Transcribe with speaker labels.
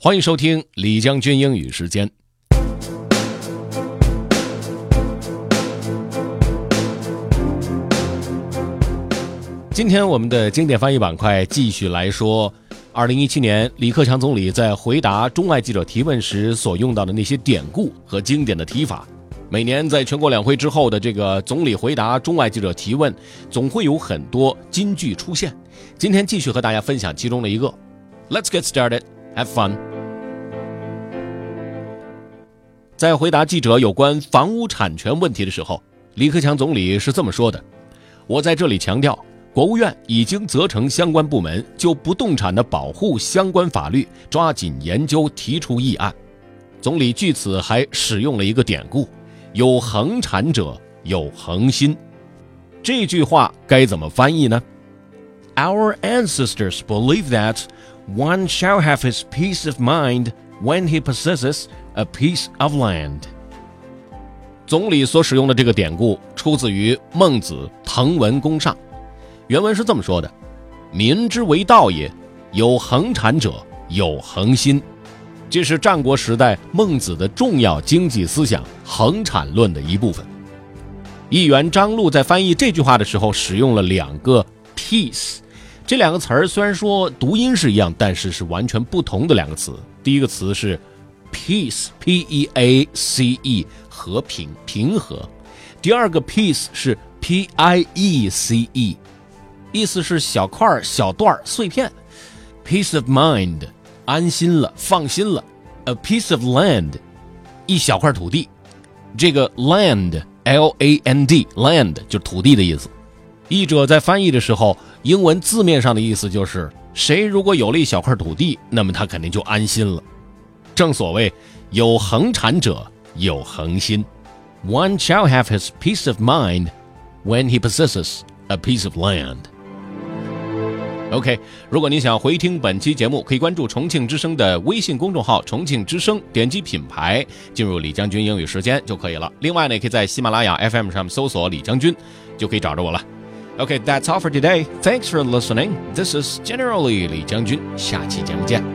Speaker 1: 欢迎收听李将军英语时间。今天我们的经典翻译板块继续来说2017年李克强总理在回答中外记者提问时所用到的那些典故和经典的提法。每年在全国两会之后的这个总理回答中外记者提问，总会有很多金句出现。今天继续和大家分享其中的一个。 Let's get started, have fun。 在回答记者有关房屋产权问题的时候，李克强总理是这么说的：我在这里强调，国务院已经责成相关部门就不动产的保护相关法律抓紧研究，提出议案。总理据此还使用了一个典故，有恒产者有恒心。这句话该怎么翻译呢？ Our ancestors believe that one shall have his peace of mind when he possesses a piece of land。 总理所使用的这个典故出自于孟子《滕文公上》，原文是这么说的：民之为道也，有恒产者有恒心。这是战国时代孟子的重要经济思想恒产论的一部分。议员张璐在翻译这句话的时候使用了两个 peace， 这两个词儿虽然说读音是一样，但是是完全不同的两个词。第一个词是 peace P-E-A-C-E 和平平和，第二个 peace 是 P-I-E-C-E 意思是小块小段碎片。 peace of mind 安心了放心了， a piece of land 一小块土地。这个 land L-A-N-D land 就是土地的意思。译者在翻译的时候，英文字面上的意思就是谁如果有了一小块土地，那么他肯定就安心了。正所谓有恒产者有恒心， One shall have his peace of mind when he possesses a piece of land。 OK， 如果你想回听本期节目，可以关注重庆之声的微信公众号重庆之声，点击品牌进入李将军英语时间就可以了。另外呢，也可以在喜马拉雅 FM 上搜索李将军就可以找着我了。Okay, that's all for today. Thanks for listening. This is Generally 李将军，下期节目见。